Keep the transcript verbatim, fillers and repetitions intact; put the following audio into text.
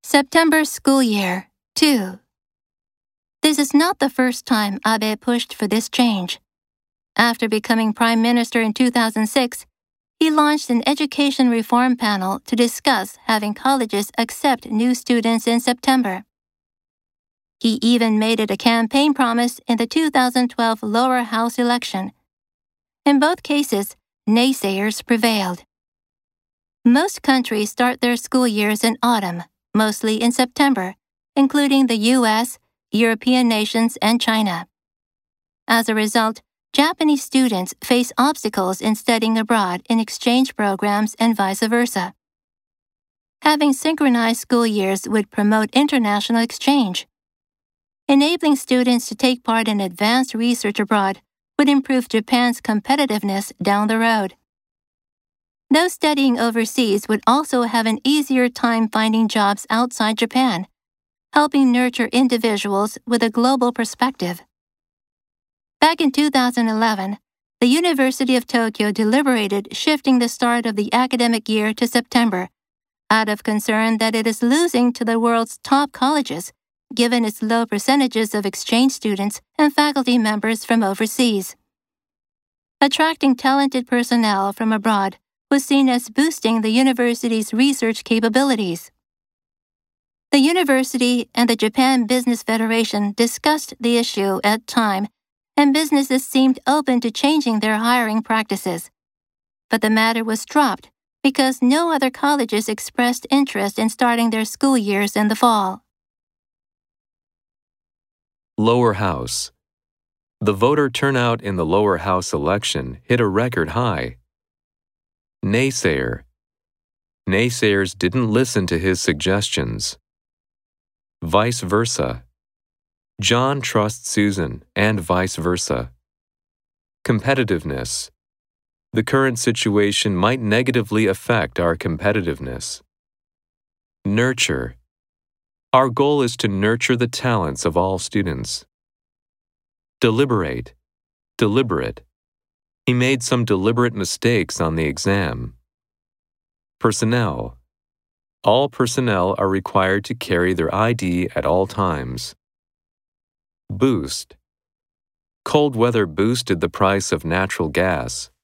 September school year, two. This is not the first time Abe pushed for this change. After becoming prime minister in two thousand six, he launched an education reform panel to discuss having colleges accept new students in September. He even made it a campaign promise in the two thousand twelve lower house election. In both cases, naysayers prevailed. Most countries start their school years in autumn, mostly in September, including the U S, European nations, and China. As a result, Japanese students face obstacles in studying abroad in exchange programs and vice versa. Having synchronized school years would promote international exchange. Enabling students to take part in advanced research abroad would improve Japan's competitiveness down the road. Those studying overseas would also have an easier time finding jobs outside Japan, helping nurture individuals with a global perspective. Back in two thousand eleven, the University of Tokyo deliberated shifting the start of the academic year to September, out of concern that it is losing to the world's top colleges, given its low percentages of exchange students and faculty members from overseas. Attracting talented personnel from abroad was seen as boosting the university's research capabilities. The university and the Japan Business Federation discussed the issue at time, and businesses seemed open to changing their hiring practices. But the matter was dropped because no other colleges expressed interest in starting their school years in the fall. Lower House. The voter turnout in the lower house election hit a record high. Naysayer. Naysayers didn't listen to his suggestions. Vice versa. John trusts Susan, and vice versa. Competitiveness. The current situation might negatively affect our competitiveness. Nurture. Our goal is to nurture the talents of all students. Deliberate. Deliberate. He made some deliberate mistakes on the exam. Personnel. All personnel are required to carry their I D at all times. Boost. Cold weather boosted the price of natural gas.